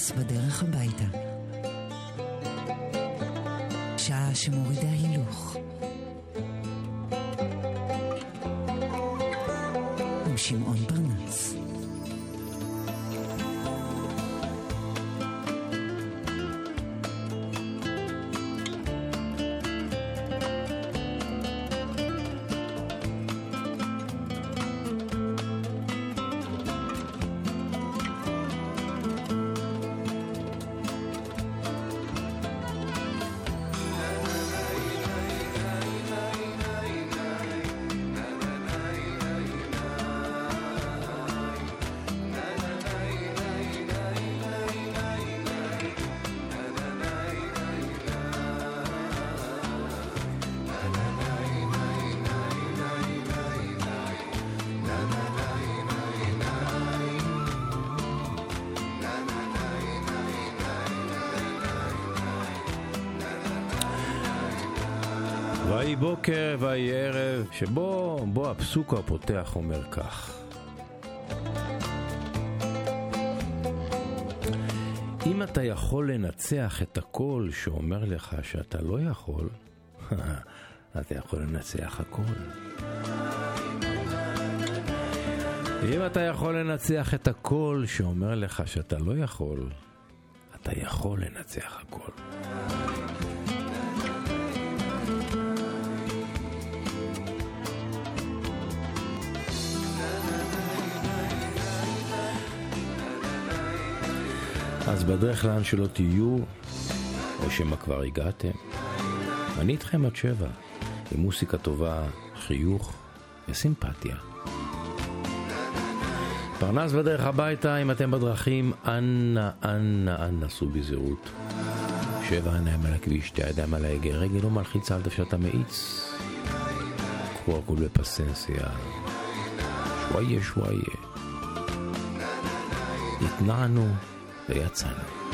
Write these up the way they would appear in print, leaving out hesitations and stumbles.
פרנס בדרך הביתה. שעה שמורידה הילוך. עם שמעון פרנס. ויהי בוקר ויהי ערב, שבו הפסוק הפותח אומר כך: אם אתה יכול לנצח את הכל שאומר לך שאתה לא יכול, אתה יכול לנצח הכל. אם אתה יכול לנצח את הכל שאומר לך שאתה לא יכול, אתה יכול לנצח הכל. אז בדרך לאן שלא תהיו, או שמה כבר הגעתם, אני איתכם עד 7, עם מוסיקה טובה, חיוך וסימפתיה. פרנס בדרך הביתה, אם אתם בדרכים, אנא סעו בזהירות. 7 עיניים על הכביש, 2 ידיים על ההגה, רגל לא מלחיצה על דוושת המאיץ. קחו הכל בפסנסיה, שוואיה. התנענו ויצאנו.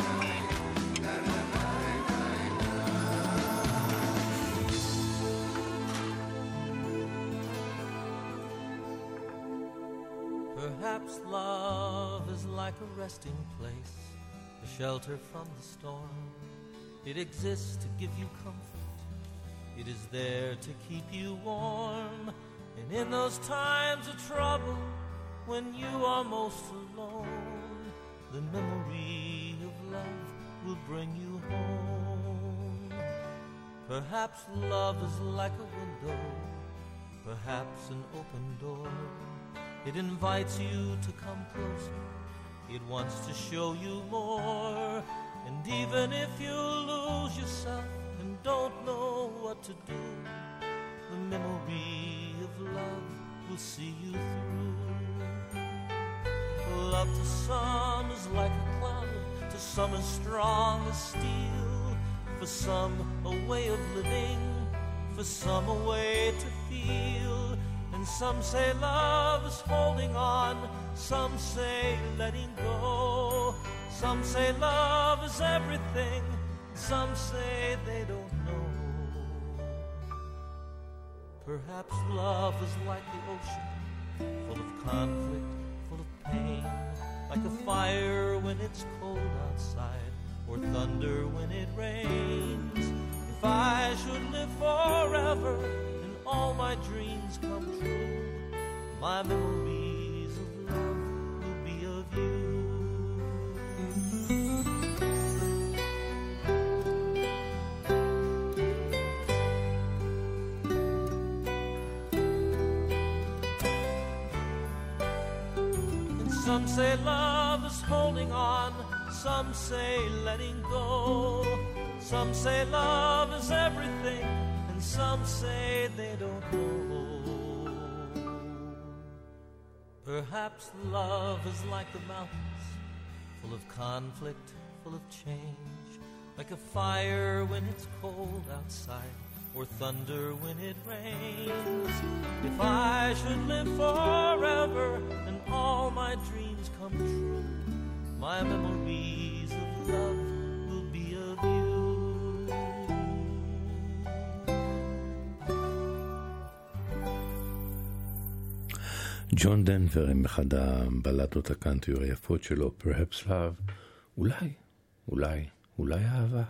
Perhaps love is like a resting place, a shelter from the storm. It exists to give you comfort. It is there to keep you warm. And in those times of trouble, when you are most alone, the memory of love will bring you home. Perhaps love is like a window, perhaps an open door. It invites you to come closer. It wants to show you more. And even if you lose yourself and don't know what to do, the memory of love will see you through. Love to some is like a cloud, to some as strong as steel. For some a way of living, for some a way to feel. And some say love is holding on, some say letting go. Some say love is everything, some say they don't know. Perhaps love is like the ocean, full of conflict, full of pain, like a fire when it's cold outside, or thunder when it rains. If I should live forever and all my dreams come true, my memories of love will be of you. Some say love is holding on, some say letting go. Some say love is everything, and some say they don't know. Perhaps love is like the mountains, full of conflict, full of change, like a fire when it's cold outside, or thunder when it rains. If I should live forever and all my dreams come true, my memories of love will be of you. ג'ון דנבר עם אחד הבלדות הקאנטרי היפות שלו, Perhaps Love, אולי אהבה.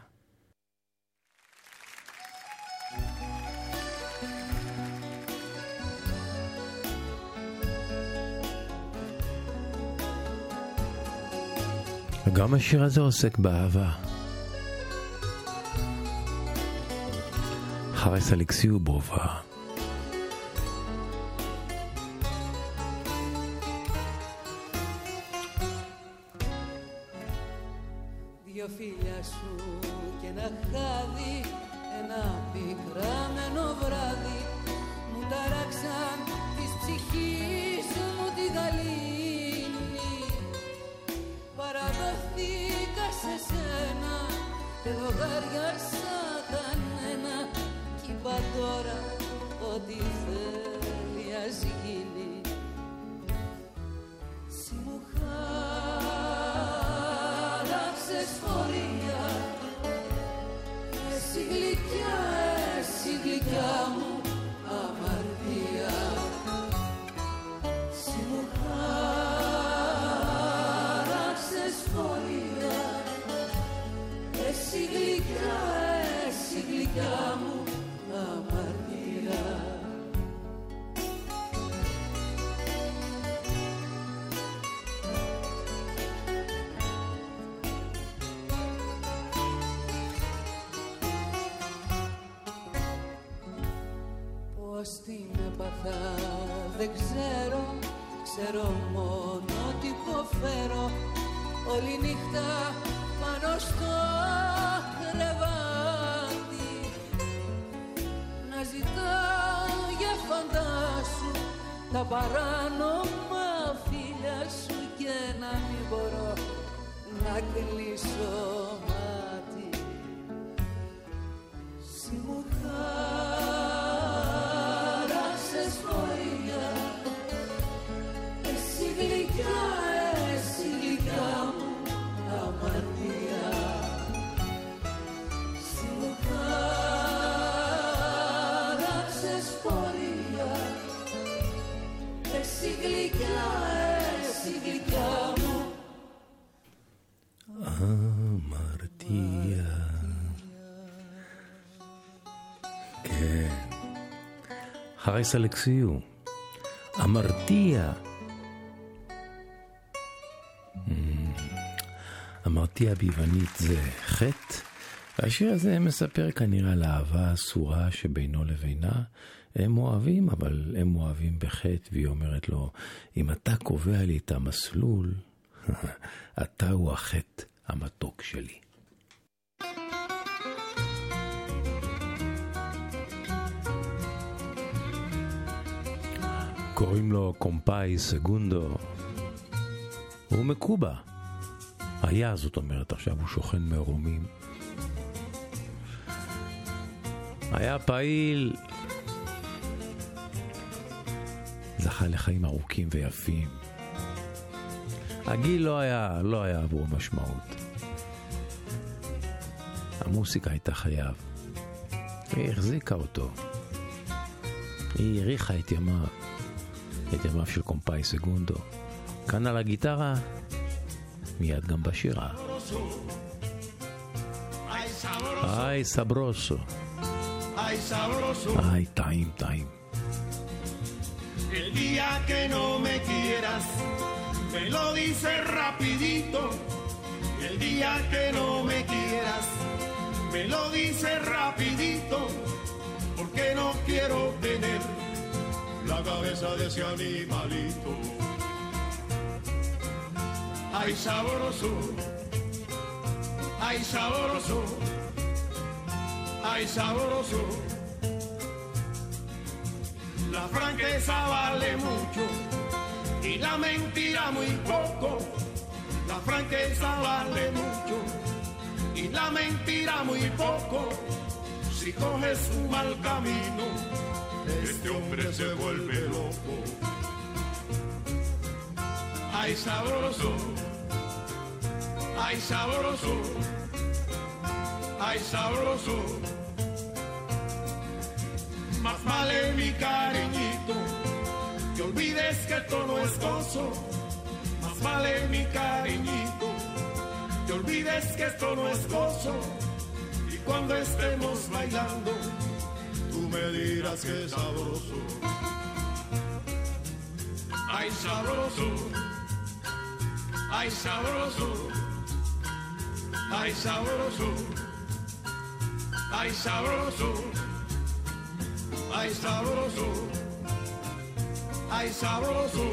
וגם השיר הזה עוסק באהבה. חרס אלכסיו ברובה. Δυο φίλια σου και ένα χάδι, ένα πικραμένο βράδυ, μου ταράξαν της ψυχής μου τη γαλήνη. Παραδοθήκα σε σένα, δεν λογαριάσα κανένα, κι είπα τώρα ότι θέλει ας γίνει. Συ μου χάραξες φορεία, εσύ γλυκιά, εσύ γλυκιά μου αμαρτία. Συ μου χάραξες φορεία, εσύ γλυκιά, εσύ γλυκιά μου αμαρτία. Πώς την έπαθα δεν ξέρω, ξέρω μόνο ότι υποφέρω όλη νύχτα πάνω στο κρεβάτι, να ζητάω για φαντάσου τα παράνομα φίλια σου και να μην μπορώ να κλείσω μάτι. Συ μου χάραξες φορεία, εσύ γλυκιά, εσύ γλυκιά μου αμαρτία. Συ μου χάραξες φορεία, εσύ γλυκιά, εσύ γλυκιά μου αμαρτία. כן, חרס אלכסיו, אמרתיה. אמרתיה ביוונית זה חטא. והשיר הזה מספר כנראה על האהבה האסורה שבינו לבינה. הם אוהבים, אבל הם אוהבים בחטא, והיא אומרת לו, אם אתה קובע לי את המסלול, אתה הוא החטא המתוק שלי. קוראים לו קומפאי סגונדו. הוא מקובה. היה, זאת אומרת, עכשיו הוא שוכן מרומים. היה פעיל. זכה לחיים ארוכים ויפים. הגיל לא היה עבור משמעות. המוסיקה הייתה חייו. היא החזיקה אותו. היא העריכה את ימיו. את ימיו של קומפאי סגונדו. כאן על הגיטרה, מיד גם בשירה. איי סברוסו. איי טעים טעים. El día que no me quieras, me lo dices rapidito. El día que no me quieras, me lo dices rapidito. Porque no quiero tener la cabeza de ese animalito. Ay sabroso, ay sabroso, ay sabroso. La franqueza vale mucho y la mentira muy poco. La franqueza vale mucho y la mentira muy poco. Si coges un mal camino, este hombre se vuelve loco. Ay sabroso, ay sabroso, ay sabroso. Más vale mi cariñito que olvides que esto no es gozo. Más vale mi cariñito que olvides olvides que esto no es gozo. Y cuando estemos bailando, tú me dirás que es sabroso. Ay, sabroso. Ay, sabroso. Ay, sabroso. Ay, sabroso. Ay, sabroso. Ay, sabroso.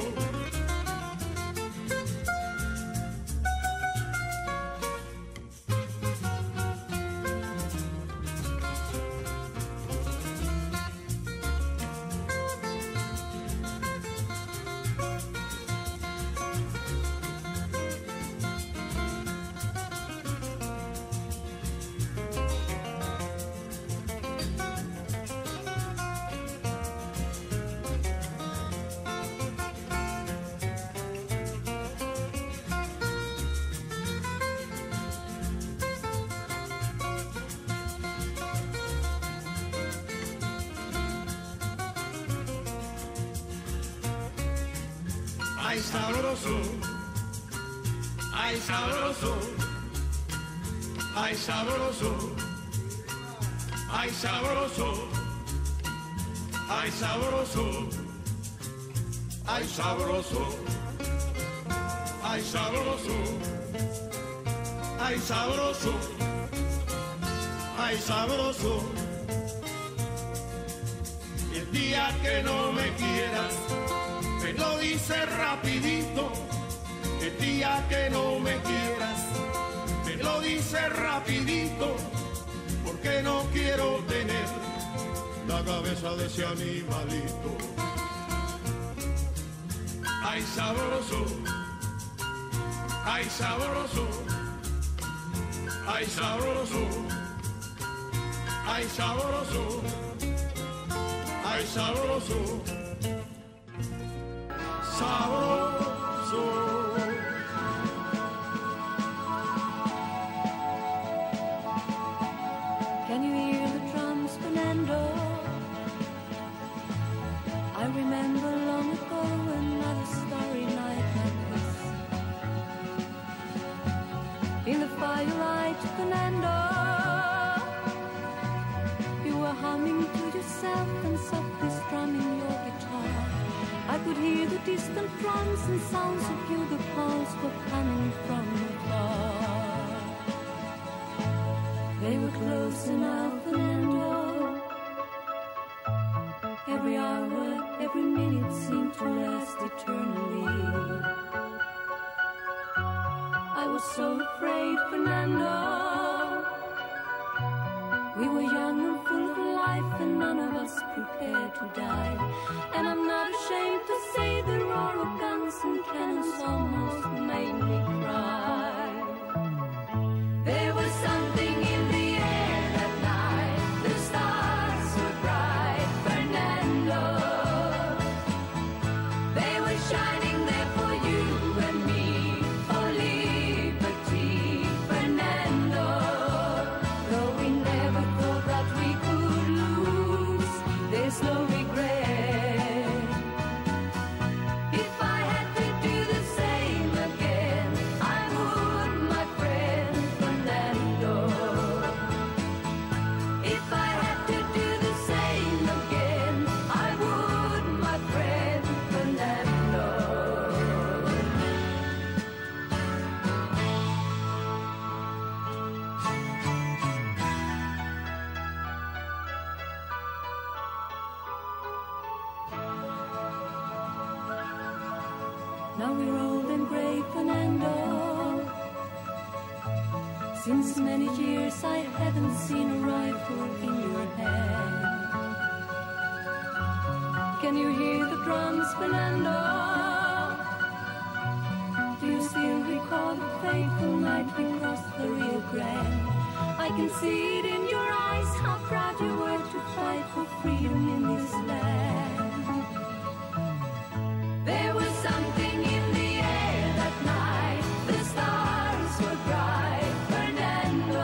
Ay, sabroso, ay, sabroso, ay, sabroso, ay, sabroso, ay, sabroso, ay, sabroso, ay, sabroso, ay, sabroso, ay, sabroso. Y el día que no me quieras, me lo dice rapidito. El día que no me quieras, me lo dice rapidito, porque no quiero tener la cabeza de ese animalito. Ay, sabroso, ay, sabroso, ay, sabroso, ay, sabroso, ay, sabroso. Sabroso. Can you hear the drums, Fernando? I remember long ago another starry night like this. In the firelight, Fernando, you were humming to yourself and softly strumming your guitar. I could hear the distant drums and sounds of bugle calls were coming from afar. They were close enough, Fernando. Every hour, every minute seemed to last eternally. I was so afraid, Fernando. We were young and full of life and none of us prepared to die. And I'm not ashamed to say the roar of guns and cannons almost made me cry. There was something in the air that night. The stars were bright, Fernando. They were shining there for you and me, for liberty, Fernando. Though we never thought that we could lose, there's no regret. If I had to do the same again, I would, my friend Fernando. If I had to do the same again, I would, my friend Fernando. Now we're old and grey, Fernando. Since many years I haven't seen a rifle in your hand. Can you hear the drums, Fernando? Do you still recall the fateful night we crossed the Rio Grande? I can see it in your eyes, how proud you were to fight for freedom in this land. There was something in the air that night. The stars were bright, Fernando.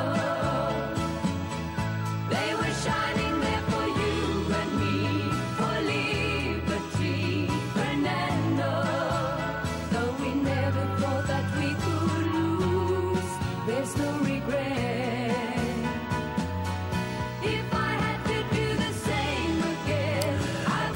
They were shining there for you and me, for liberty, Fernando. Though we never thought that we could lose, there's no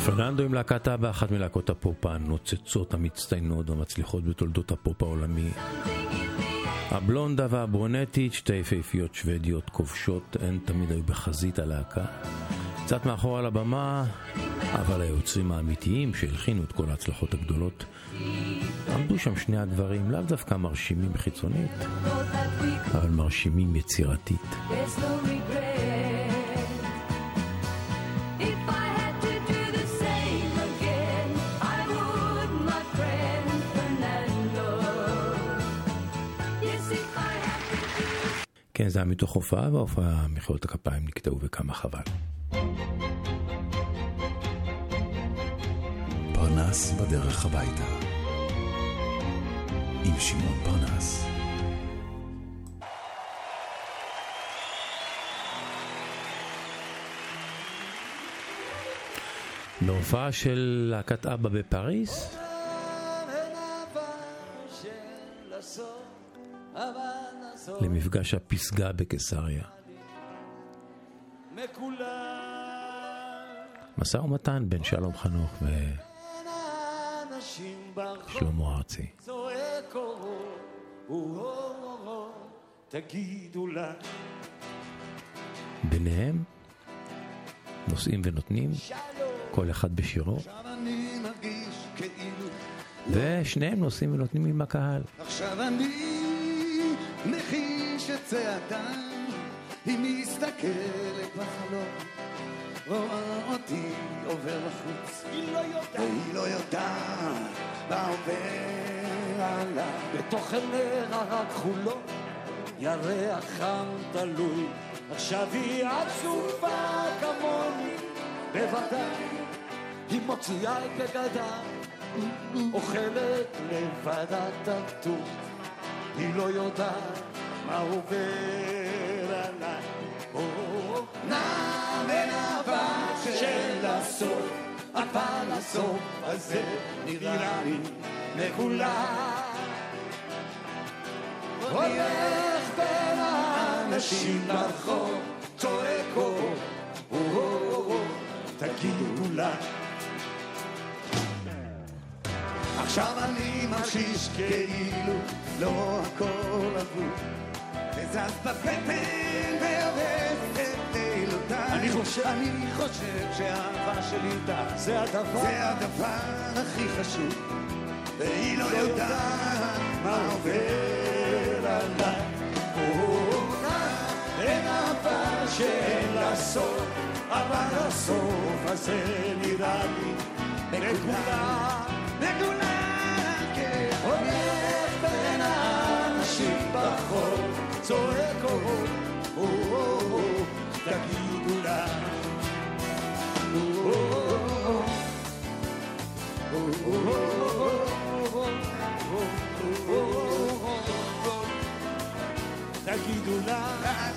פרננדו עם להקת אבא, אחת מלהקות הפופ הנוצצות, המצטיינות והמצליחות בתולדות הפופ העולמי. הבלונדה והברונטית, שתי יפהפיות שוודיות כובשות, הן תמיד היו בחזית הלהקה. קצת מאחור על הבמה, אבל היוצרים האמיתיים שהלחינו את כל ההצלחות הגדולות, עמדו שם שני הדברים, לאו דווקא מרשימים חיצונית, אבל מרשימים יצירתית. כן, זה היה מתוך הופעה, וההופעה מחיאות הכפיים נקטעו וכמה חבל. פרנס בדרך הביתה עם שמעון פרנס. בהופעה של להקת אבא בפריז, למפגש הפסגה בקיסריה. משא ומתן בין שלום חנוך ושלמה ארצי. ביניהם נושאים ונותנים, כל אחד בשירו, ושניהם נושאים ונותנים עם הקהל. עכשיו אני מחיש את צעדה, היא מסתכלת בחלום, רואה אותי עובר לחוץ, והיא לא יודעת מה עובר עליי. בתוך עיניה רק חולון, ירח חם תלוי, עכשיו היא עצובה כמוני, בוודאי היא מוציאה את בגדה, אוכלת לבד התות, היא לא יודעת מה עובר עליי. נע בין העבר של הסוף, אבל הסוף הזה נראה לי מכולם. הולך בין האנשים ברחוב, צועק תגידו לה. עכשיו אני מרגיש כאילו לא הכל אבוד, וזז בבטן והורס את לילותיי. אני חושב שהאהבה שלי איתה זה הדבר הכי חשוב, והיא לא יודעת מה עובר עליי. אין אהבה שאין לה סוף, אבל הסוף הזה נראה לי מכולם. הולך בין האנשים ברחוב, צועק תגידו לה. תגידו לה.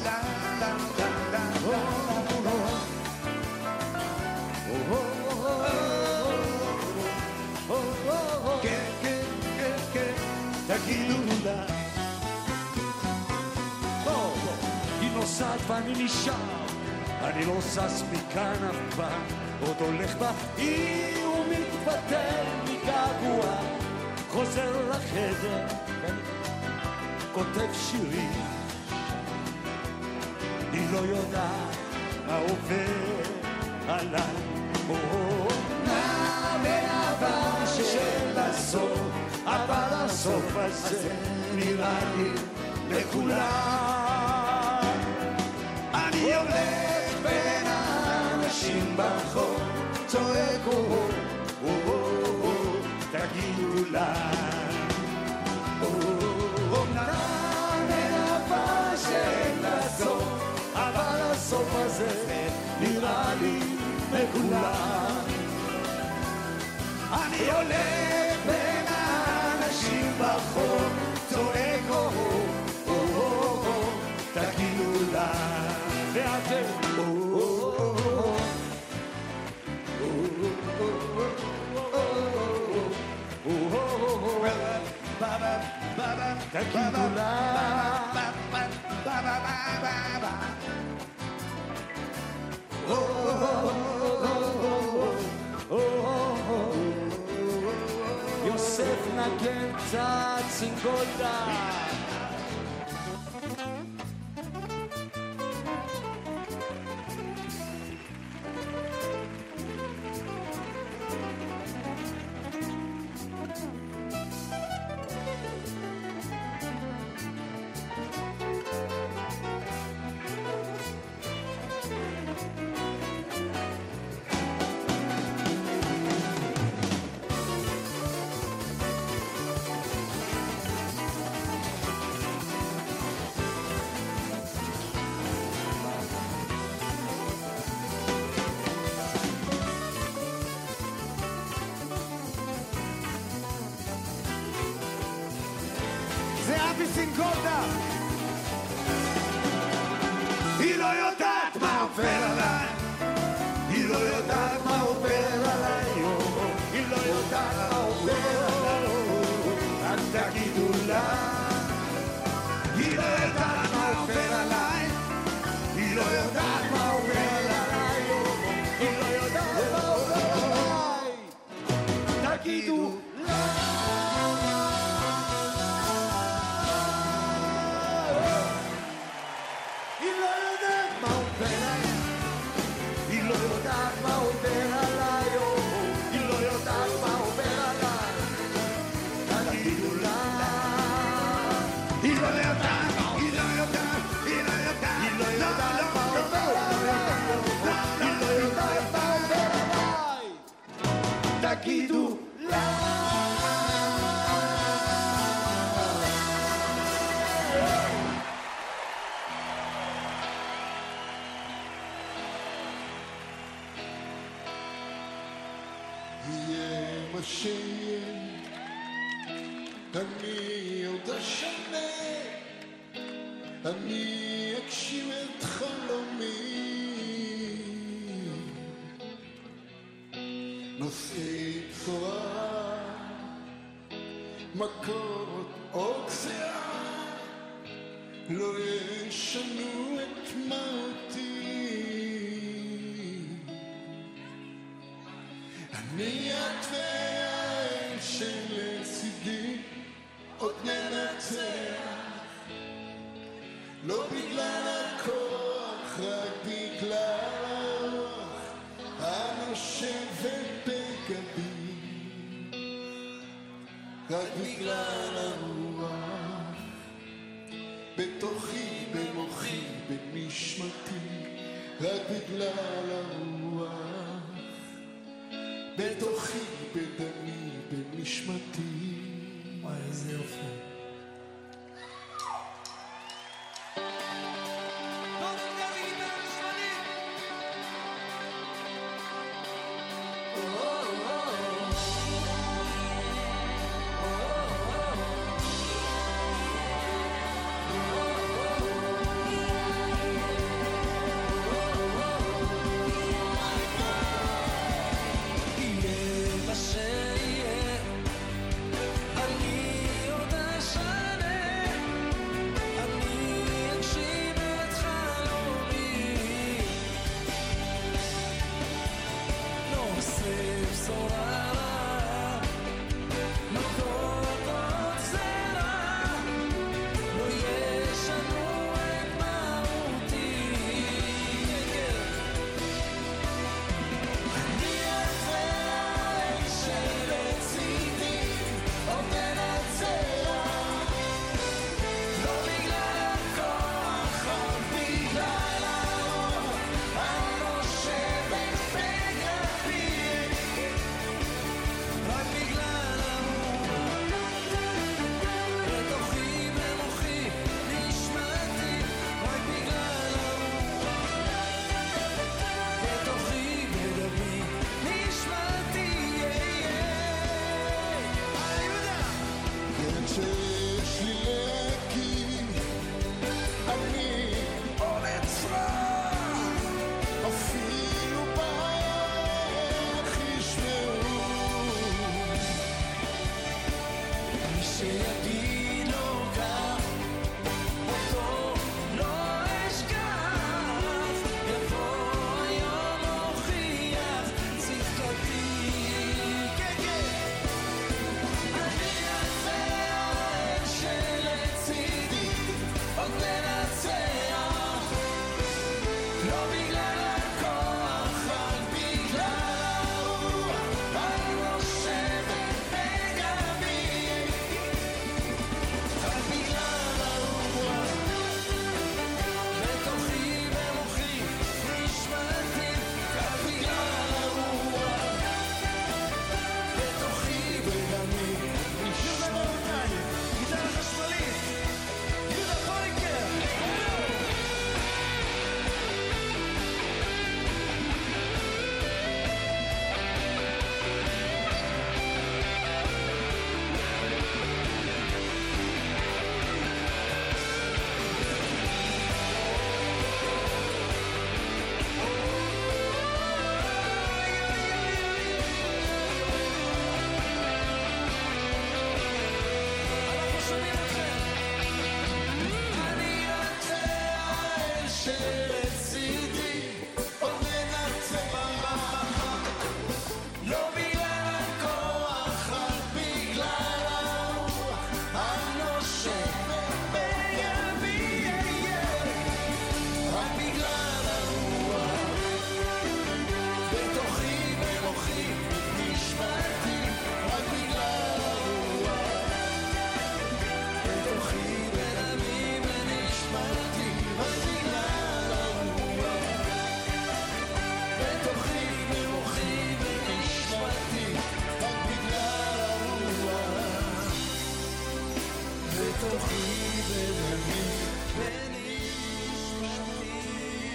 תגידו לה. היא נוסעת ואני נשאר, אני לא סס מכאן אף פעם, עוד הולך בה היא ומתפטר מגעגוע, חוזר לחדר, כותב שירים, היא לא יודעת מה עובר עליי. נע בין העבר של הסוף, אבל הסוף הזה נראה לי לכולם. אני הולך בין האנשים ברחוב, צועק תגידו לה. אומנם אין אהבה של הסוף, אבל הסוף הזה נראה לי לכולם. אני הולך בין האנשים ברחוב, צועק תגידו לה. ואתם תגידו לה. vida. זה אבי סינגולדה. היא לא יודעת מה עובר עליי, היא לא יודעת מה עובר עליי, היא לא יודעת מה עובר עליי, רק תגידו לה. היא לא יודעת מה עובר עליי, היא לא יודעת מה עובר עליי, היא לא יודעת מה עובר עליי, תגידו לה. תגידו לה. יהיה מה שיהיה, אני עוד אשנה, אני אגשים את חלומי. נושאי צורה, מכות או גזירה, לא ישנו את מהותי. אני את והאל שלצידי עוד ננצח, לא בגלל הכוח, רק בגלל הנושבת בגבי, רק בגלל הרוח בתוכי, במוחי, בנשמתי, רק בגלל הרוח בתוכי, בדמי, בנשמתי. וואי, איזה יופי. אני עוד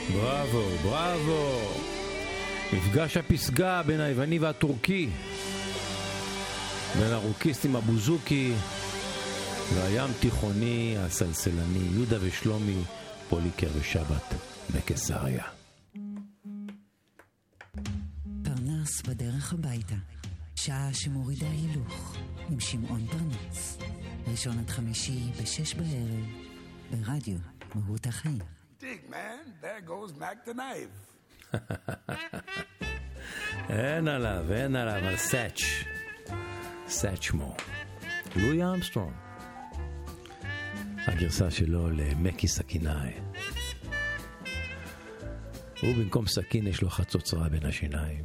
בראבו, בראבו. מפגש הפסגה בין היווני והטורקי, בין הרוקיסטים הבוזוקי והים תיכוני הסלסלני, יהודה ושלומי, פוליקר ושבת בקיסריה. פרנס בדרך הביתה, שעה שמורידה הילוך עם שמעון פרנס, ראשון עד חמישי ב-6 בערב ברדיו מהות החיים. Dig, man, there goes Mac the knife. אין עליו, על סאץ' מו. לואי ארמסטרונג. הגרסה שלו למקי סכינאי. הוא במקום סכין יש לו חצוצרה בין השיניים.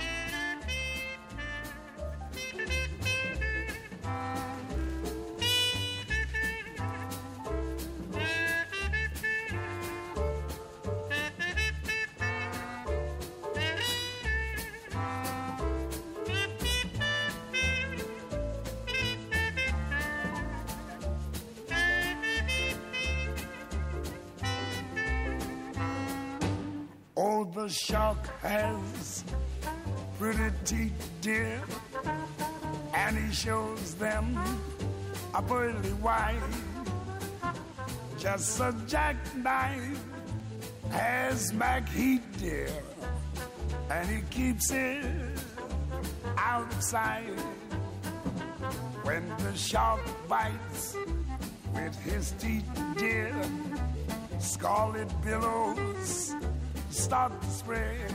The shark has pretty teeth, dear, and he shows them a pearly white. Just a jackknife has Mac Heat, dear, and he keeps it out of sight. When the shark bites with his teeth, dear, scarlet billows start to spread.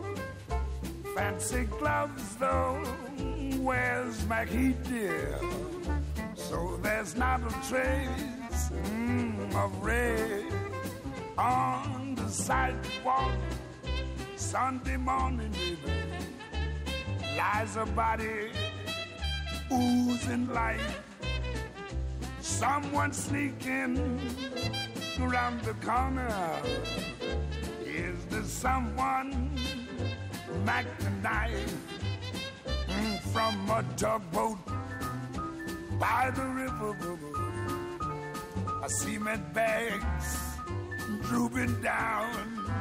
Fancy gloves though wears Mac Heat, dear, so there's not a trace of red on the sidewalk. Sunday morning, baby, lies a body oozing light. Someone sneaking around the corner. Is there someone Mac the knife from a tugboat by the river? A cement bags drooping down.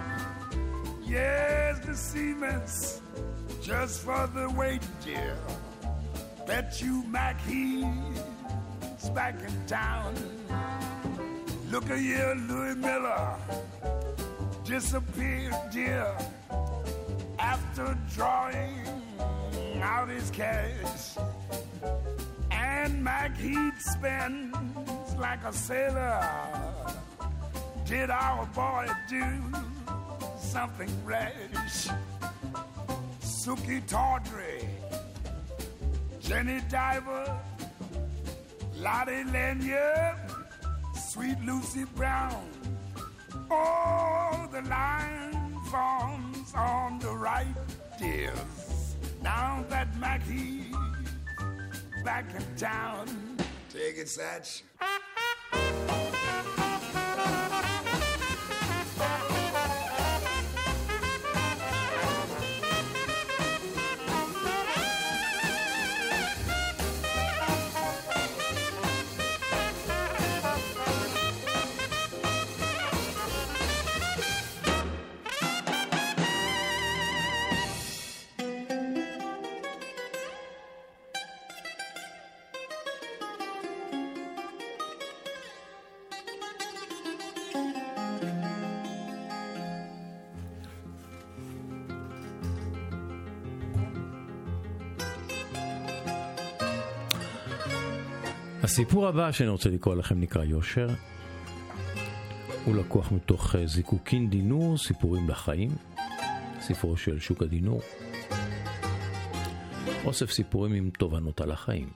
Yes, the cement's just for the weight, dear. Bet you Mac he's back in town. Look at here, Louis Miller disappeared, dear, after drawing out his cash. And Mac Heat spends like a sailor. Did our boy do something rash? Suki Tawdry, Jenny Diver, Lottie Lanyard, Sweet Lucy Brown. Oh, the line forms on the right, dears. Now that Mac He's back in town. Take it, Satch. הסיפור הבא שאני רוצה לקרוא לכם נקרא יושר. הוא לקוח מתוך זיקוקין דינור, סיפורים לחיים, ספרו של שוקה דינור. אוסף סיפורים עם תובנות על החיים.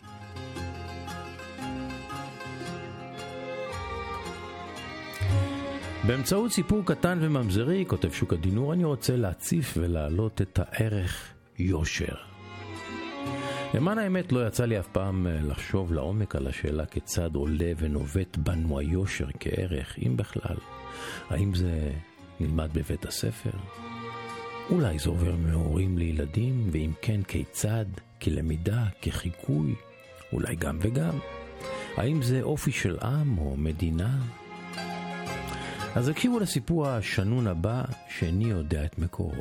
באמצעות סיפור קטן וממזרי, כותב שוקה דינור, אני רוצה להציף ולהעלות את הערך יושר. למען האמת לא יצא לי אף פעם לחשוב לעומק על השאלה כיצד עולה ונובט בנו היושר כערך, אם בכלל. האם זה נלמד בבית הספר? אולי זה עובר מהורים לילדים, ואם כן כיצד, כלמידה, כחיקוי, אולי גם וגם. האם זה אופי של עם או מדינה? אז הקשיבו לסיפור השנון הבא, שאיני יודע את מקורו.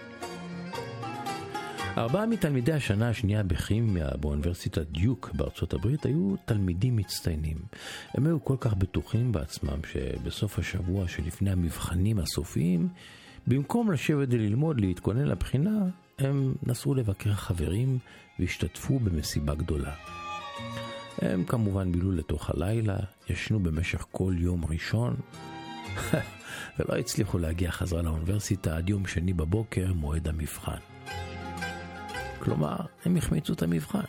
4 מתלמידי השנה השנייה בכימיה באוניברסיטת דיוק בארצות הברית היו תלמידים מצטיינים. הם היו כל כך בטוחים בעצמם שבסוף השבוע שלפני המבחנים הסופיים, במקום לשבת וללמוד להתכונן לבחינה, הם נסעו לבקר חברים והשתתפו במסיבה גדולה. הם כמובן בילו לתוך הלילה, ישנו במשך כל יום ראשון, ולא הצליחו להגיע חזרה לאוניברסיטה עד יום שני בבוקר, מועד המבחן. כלומר, הם החמיצו את המבחן.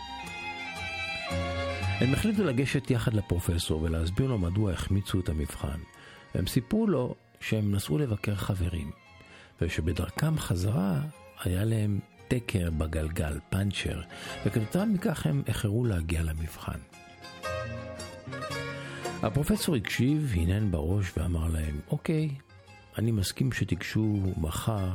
הם החליטו לגשת יחד לפרופסור ולהסביר לו מדוע החמיצו את המבחן. הם סיפרו לו שהם נסעו לבקר חברים, ושבדרכם חזרה היה להם תקר בגלגל, פנצ'ר, וכתוצאה מכך הם איחרו להגיע למבחן. הפרופסור הקשיב, הנהן בראש ואמר להם, אוקיי, אני מסכים שתיגשו מחר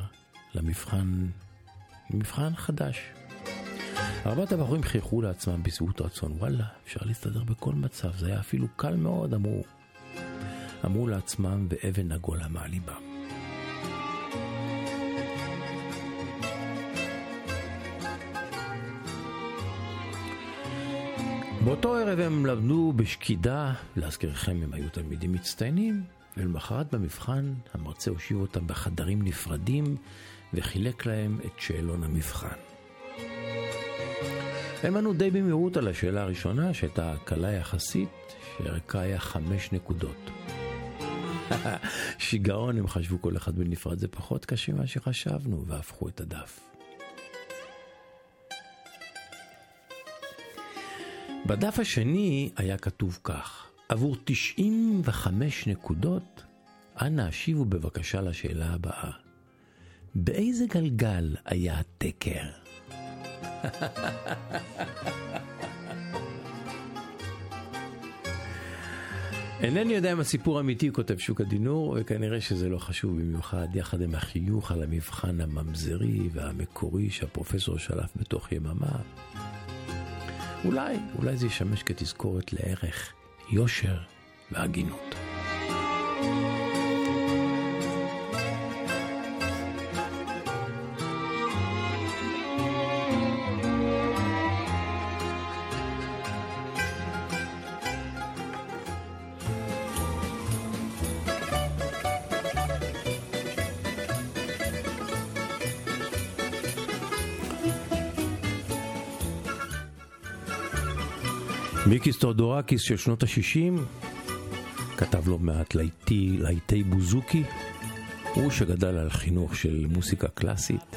למבחן חדש. 4 הבחורים חייכו לעצמם בשביעות רצון, וואלה, אפשר להסתדר בכל מצב, זה היה אפילו קל מאוד, אמרו לעצמם באבן עגולה מעליבם. באותו ערב הם למדו בשקידה, להזכירכם הם היו תלמידים מצטיינים, ולמחרת במבחן המרצה הושיב אותם בחדרים נפרדים וחילק להם את שאלון המבחן. הם ענו די במהירות על השאלה הראשונה שהייתה קלה יחסית, שערכה היה 5 נקודות. שיגעון, הם חשבו כל אחד בנפרד, זה פחות קשה מה שחשבנו, והפכו את הדף. בדף השני היה כתוב כך, עבור 95 נקודות, אנא השיבו בבקשה לשאלה הבאה. באיזה גלגל היה התקר? אינני יודע אם הסיפור אמיתי, כותב שוק הדינור, וכנראה שזה לא חשוב במיוחד, יחד עם החיוך על המבחן הממזרי והמקורי שהפרופסור שלף בתוך יממה. אולי זה ישמש כתזכורת לערך יושר והגינות. מיקיס טודורקיס של שנות ה-60 כתב לו מעט להיטי בוזוקי, הוא שגדל על חינוך של מוסיקה קלאסית,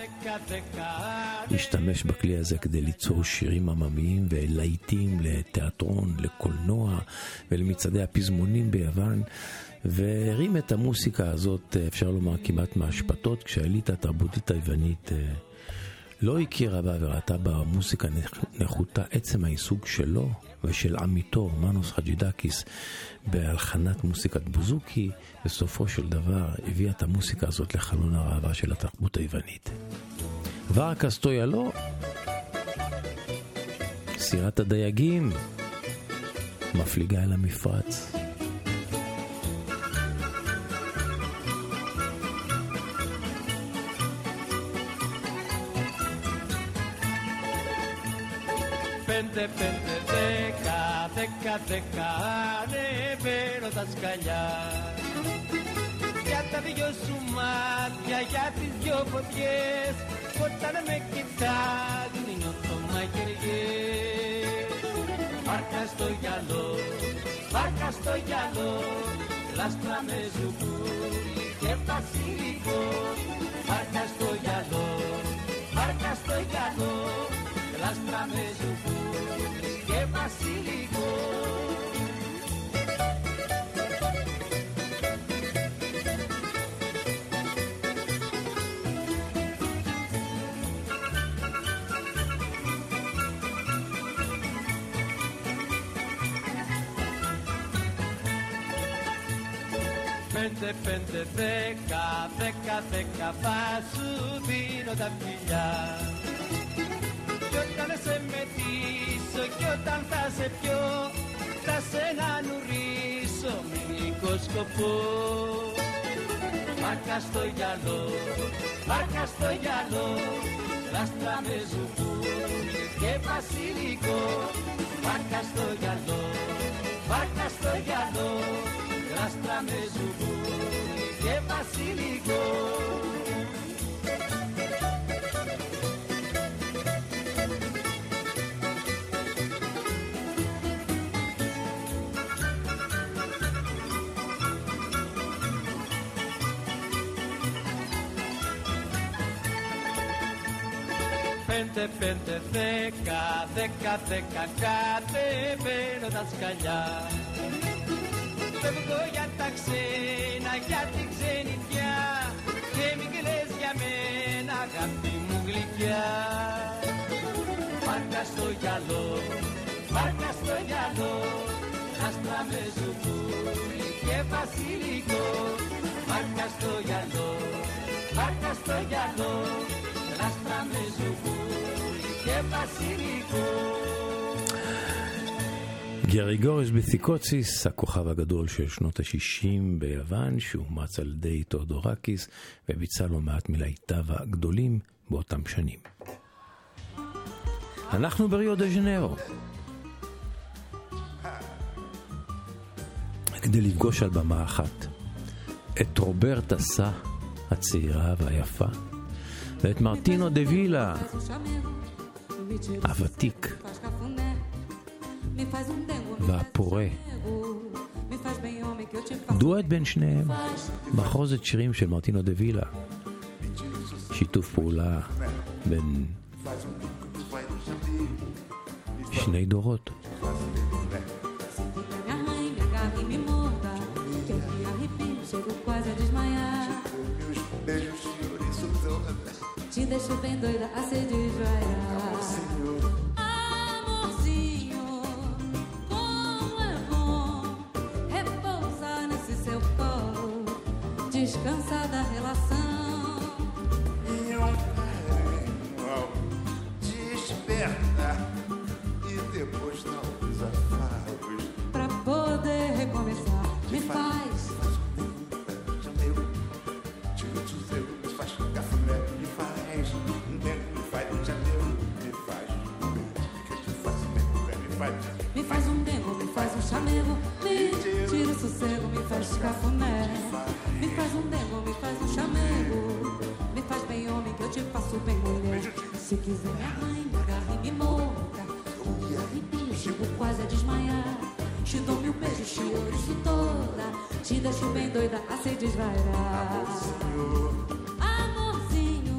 השתמש בכלי הזה כדי ליצור שירים עממיים ולהיטים לתיאטרון, לקולנוע ולמצעדי הפזמונים ביוון, והרים את המוסיקה הזאת, אפשר לומר כמעט מהשפטות, כשהאליטה התרבותית היוונית לא הכירה בה וראתה בה מוסיקה נחותה. עצם העיסוק שלו ושל עמיתו מנוס חג'ידקיס בהלחנת מוסיקת בוזוקי, בסופו של דבר הביאה את המוסיקה הזאת לחלון הראווה של התרבות היוונית. ורקס טויאלו, סירת הדייגים, מפליגה אל המפרץ. Pente, δεκα, ανεβαίνω τα σκαλιά. Για τα δυο σου μάτια, για τις δυο φωτιές, όταν με κοιτάζουν νιώθω μαγειριές. Βάρκα στο γυαλό, λάστρα με ζουγκούρι και βασιλικό. Βάρκα στο γυαλό, λάστρα με ζουγκούρι και βασιλικό. Πέντε, δέκα, θα σου δίνω τα φιλιά. Κι όταν σε μετήσω, κι όταν θα σε πιω, θα σε να νουρίσω Somos copo. Marca estoy ya lo, lástrame su que basilico. Marca estoy ya lo, lástrame su que basilico. Pente, ceca, cate, pero das callar. Pego ya taxena, ya tixenia, que migueles ya mena, gambi muglikia. Marca estoy ya lo, lástrame su que basilico. Marca estoy ya lo, lástrame su גרי גורש בסיקוציס, הכוכב הגדול של שנות ה-60 ביוון, שאומץ על ידי תאודורקיס וביצע לו מעט מלהיטיו הגדולים באותם שנים. אנחנו בריו דה ז'נרו, כדי לפגוש על במה אחת את רוברטה סא הצעירה והיפה, ואת מרטינו דה וילה הוותיק והפורה. דואט בין שניהם, מחרוזת שירים של מרטינו דה וילה, שיתוף פעולה בין שני דורות. Te deixo bem doida a se desvaiar. Amorzinho, como é bom repousar nesse seu colo, descansar da relação. E um carinho ao despertar e depois dar os afagos pra poder recomeçar. Me faz chamego, me tira o sossego, me faz cafuné. Me faz um dengo, me faz um chamego. Me faz bem homem que eu te faço bem mulher. Se quiser me arranha, me agarra e me morda. Me arrepio, chego quase a desmaiar. Te dou mil beijos, te ouriço toda. Te deixo bem doida a se desvairar. Amorzinho,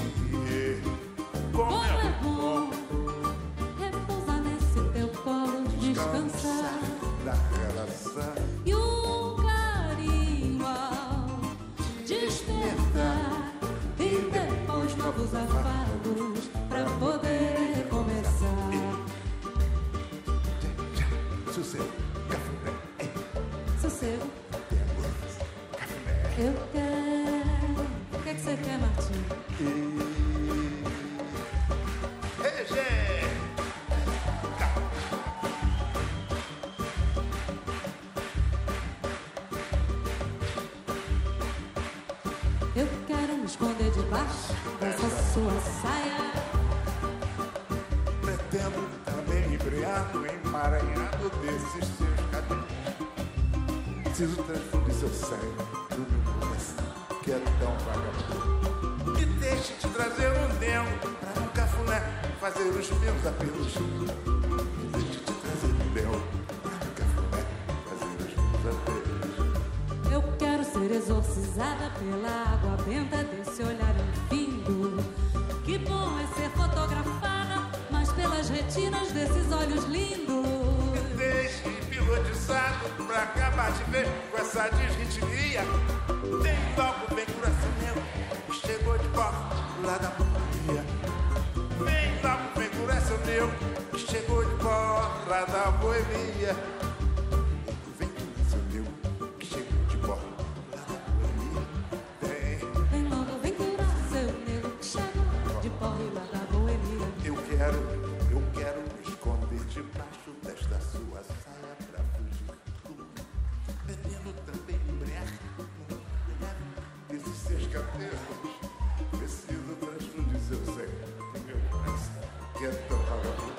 como é bom repousar nesse teu colo, descansar da relação. E um carinho ao despertar e depois novos afagos pra poder recomeçar. Sossego, café, sossego, eu quero. O que é que você quer, Martinho? Eu quero me esconder debaixo dessa sua saia. Pretendo também embriado, emaranhado desses seus cabelos. Preciso transfundir seu sangue do meu coração, que é tão vagabundo. Que deixe de trazer um dengo pra um cafuné fazer os meus apelos. Que deixe de trazer um dengo pra um cafuné fazer os meus apelos. Eu quero ser exorcizada pela água benta desse olhar infindo. Que bom é ser fotografada, mas pelas retinas desses olhos lindos. Me deixe hipnotizado pra acabar de ver com essa desritmia. Vem logo, vem coração meu, chegou de volta lá da boemia. Vem logo, vem coração meu, chegou de volta lá da boemia. Vem coração meu, que chegou de volta lá da boemia. Vem logo, vem coração meu, que chegou de volta lá da boemia. Eu quero me esconder debaixo desta sua saia pra fugir. Preciso transfundir seu sangue. Meu coração quer tocar a vida.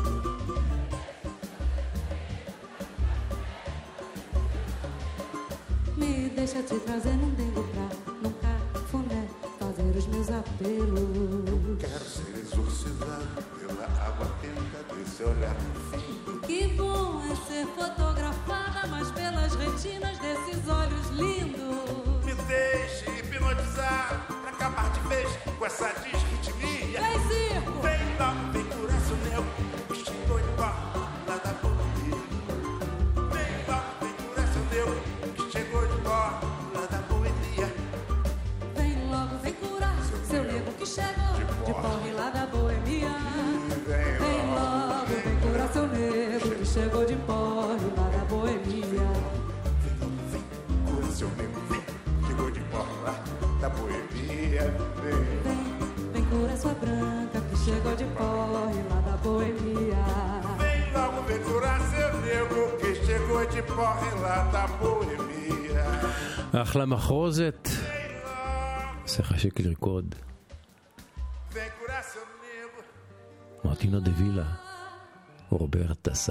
Me deixa te trazer num dengo pra nunca funder, fazer os meus apelos. Quero ser exorcizado pela água quente desse olhar. Que bom é ser fotografada, mas pelas retinas desses olhos lindos. Me deixe hipnotizar pra acabar de vez com essa desritmia. Vem, circo! Vem logo, vem coração meu, me chegou de pó, lá da boemia. Vem logo, vem coração meu, me chegou de pó, lá da boemia. Vem logo, vem curar seu nego que chegou de porre lá da boemia. Vem logo, vem curar seu nego que chegou de porre lá da boemia. Cura seu nego, vem, chegou de pó, lá da boemia. Vem curar sua branca que chegou de porre lá da boemia. Vem logo, vem curar seu nego que chegou de porre lá da boemia. אחלה מחרוזת. זה חשק לרקוד. Vem curar seu nego. מרטינו דה וילה. רוברט דסה.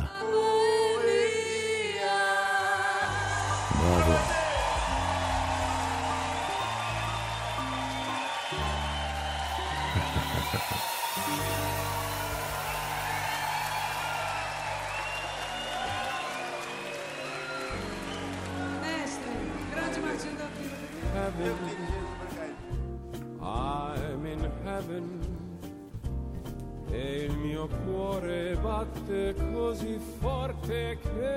בראבו. Mestre, grande Martinho da Vila. I'm in heaven e il mio cuore batte così forte che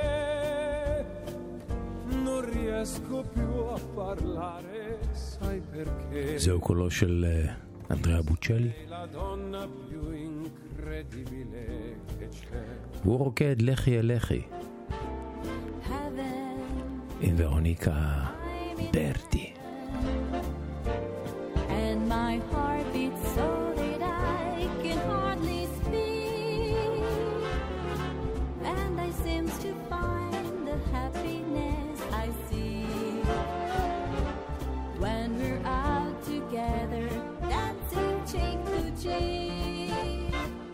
non riesco più a parlare, sai perché? זהו קולו של אנדריאה בוצ'לי. La donna più incredibile che c'è. והוא רוקד לכי אל לכי. עם ורוניקה ברטי. And my heart beats so that I can hardly speak, and I seem to find the happiness I see when we're out together dancing cheek to cheek.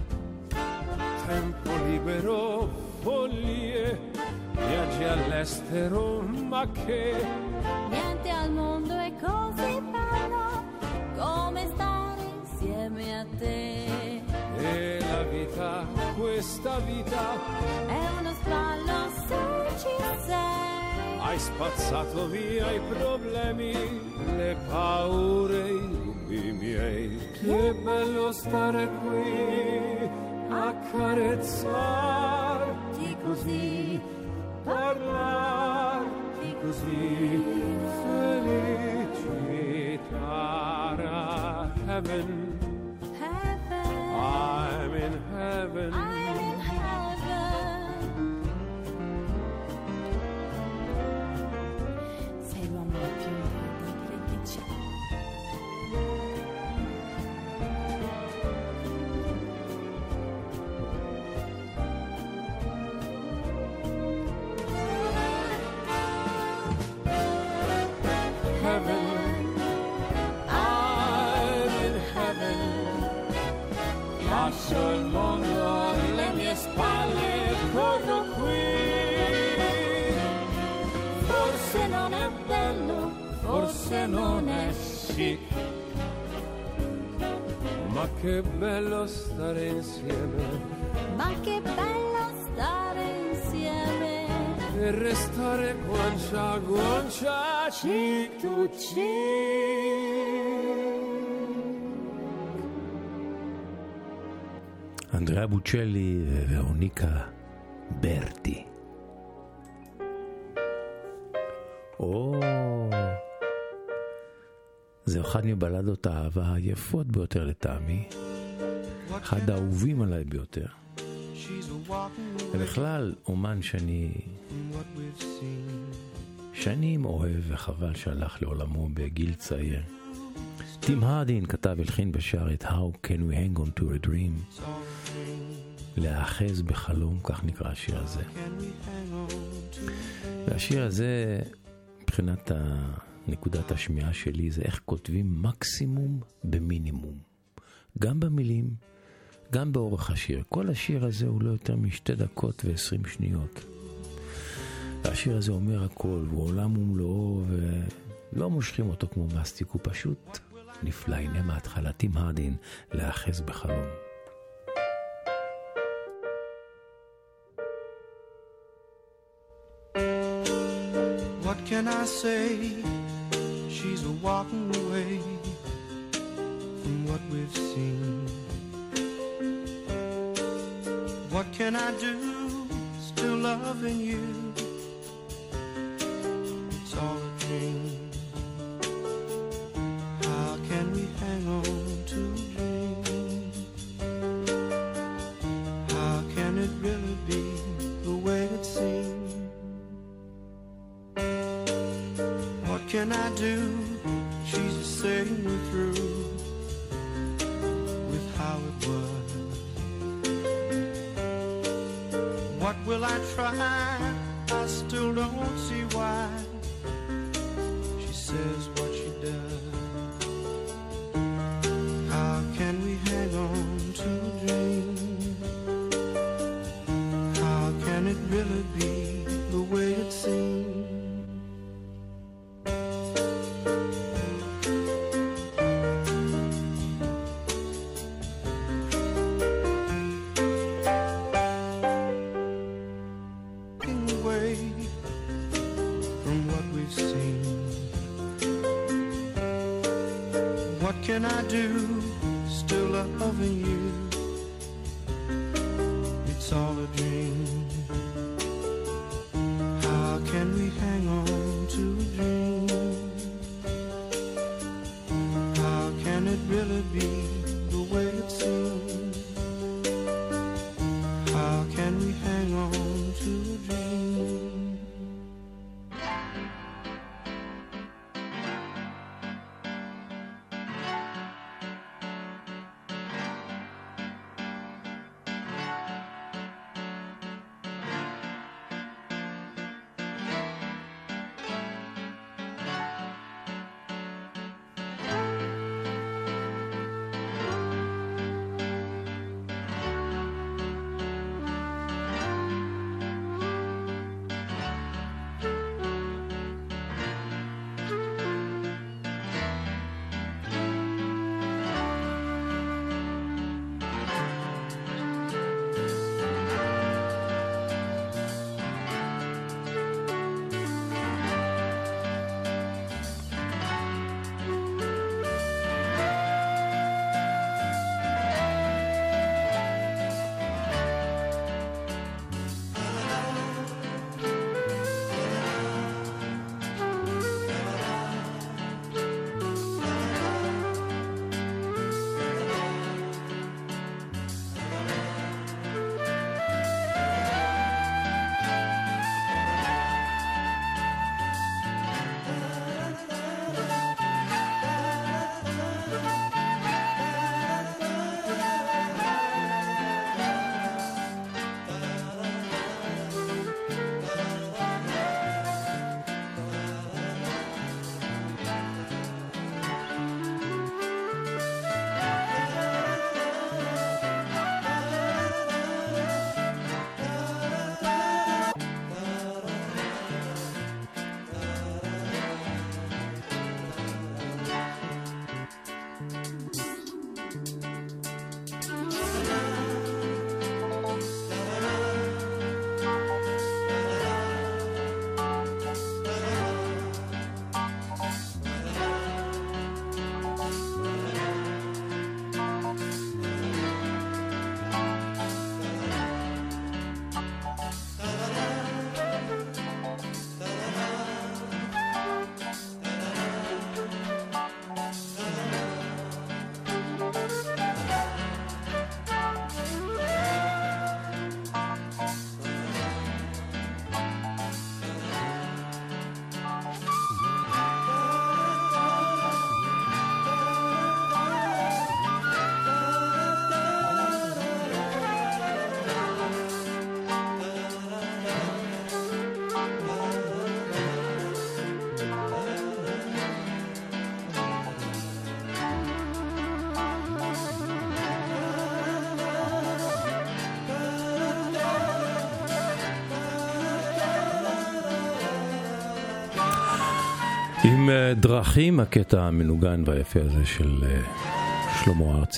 Tempo libero, follie, viaggi all'estero, ma che Niente al mondo è così bello come stare insieme a te. e la vita, questa vita, È uno sballo se ci sei. hai spazzato via i problemi, le paure, i dubbi miei. Che bello stare qui a carezzarti così, parlarti così, felicità. Heaven, I'm in heaven. I'm in heaven. Sei l'uomo più incredibile che c'è. Heaven, I'm in heaven. Lascio il mondo alle mie spalle, corro qui. Forse non è bello, Forse non è chic, ma che bello stare insieme ma che bello stare insieme. e restare guancia a guancia, cheek to אנדריאה בוצ'לי וורוניקה ברטי. זה אחד מבלדות האהבה היפות ביותר לטעמי, אחד האהובים עליי ביותר, ובכלל אומן שאני שנים אוהב, וחבל שהלך לעולמו בגיל צעיר. טים הרדין כתב, הלחין ושר את How Can We Hang On To A Dream, להאחז בחלום, כך נקרא השיר הזה. והשיר הזה מבחינת נקודת השמיעה שלי זה איך כותבים מקסימום במינימום. גם במילים, גם באורך השיר. כל השיר הזה הוא לא יותר מ2 דקות ו20 שניות. השיר הזה אומר הכל, הוא עולם ומלואו, ולא מושכים אותו כמו מסטיק, הוא פשוט נפלא. הנה מההתחלה, טים הרדין, להאחז בחלום. What can I say? She's a walking away from what we've seen. What can I do? Still loving you. It's all a dream. How can we hang on to a dream? How can it really be the way it seems? What can I do? She's just saying we're through with how it was. What will I try? I still don't see why she says what she does. How can we hang on to a dream? How can it really be the way it seems? What can I do? Still loving you. It's all a dream. How can we hang on to a dream? How can it really be the way it seems? How can we hang on to a dream? עם דרכים, הקטע המנוגן והיפה הזה של שלמה ארצי.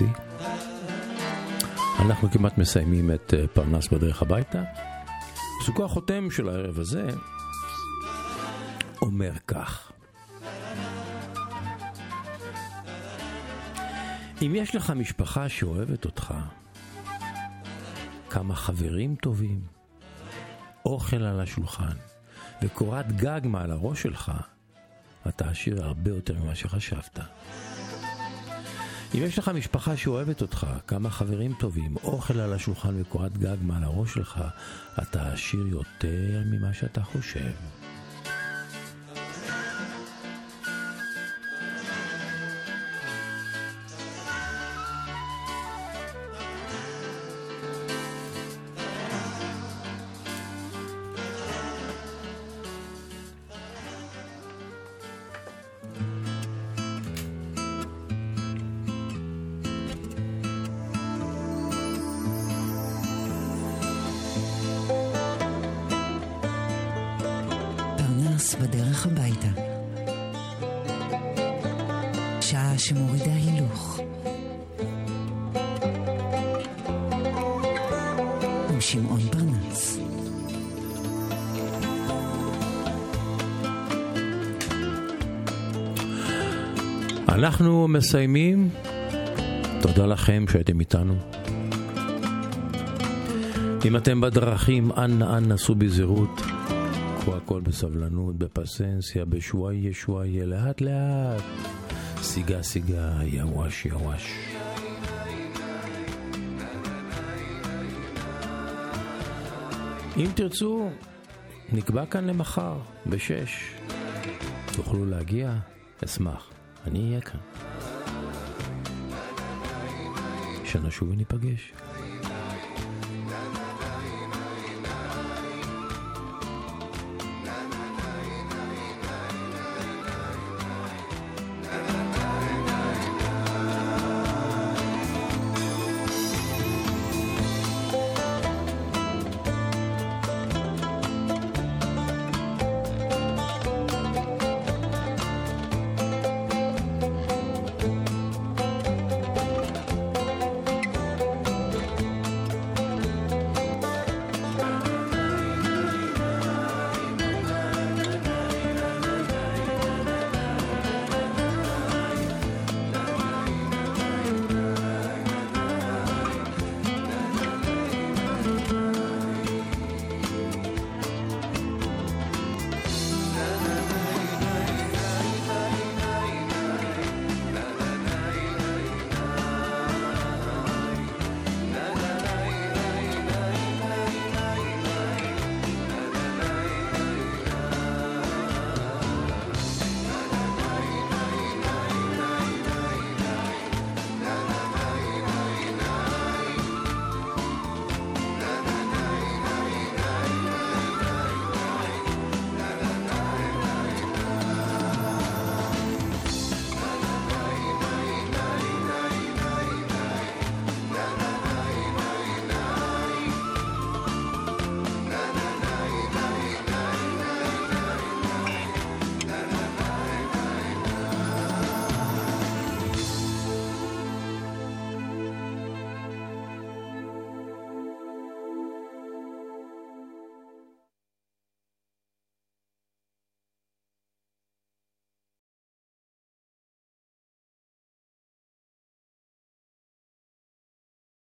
אנחנו כמעט מסיימים את פרנס בדרך הביתה. פסוקו החותם של הערב הזה אומר כך: אם יש לך משפחה שאוהבת אותך, כמה חברים טובים, אוכל על השולחן וקורת גג מעל הראש שלך, אתה עשיר הרבה יותר ממה שחשבת. אם יש לך משפחה שאוהבת אותך, כמה חברים טובים, אוכל על השולחן וקורת גג מעל הראש שלך, אתה עשיר יותר ממה שאתה חושב. בדרך הביתה. שעה שמורידה הילוך. עם שמעון פרנס. אנחנו מסיימים. תודה לכם שהייתם איתנו. אם אתם בדרכים, אנא סעו בזהירות. הכל בסבלנות, בפסנסיה, בשוואיה, לאט לאט, סיגה, יווש. אם תרצו, נקבע כאן למחר, ב-6. תוכלו להגיע? אשמח, אני אהיה כאן. שנשוב וניפגש.